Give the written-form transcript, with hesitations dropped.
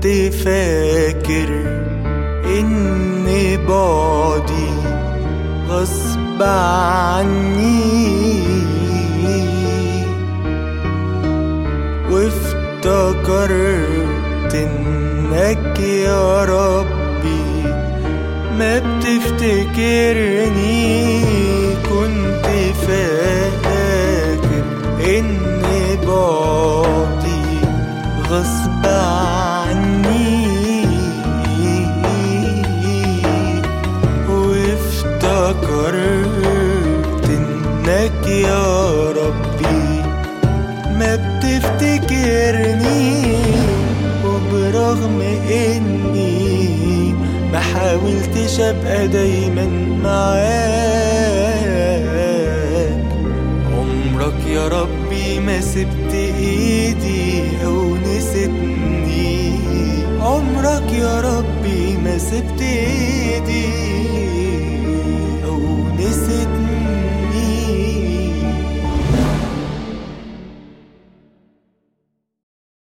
كنت فاكر إن بعدي غصب عني، وافتكرت إنك يا ربي ما بتفتكرني. كنت فاكر إن بعدي غصب عني، وافتكرت إنك يا ربي ما بتفتكرني. وبرغم إني ما حاولتش أبقى دايما معاك، عمرك يا ربي ما سبت إيدي أو نسيتني. عمرك يا ربي ما سبت إيدي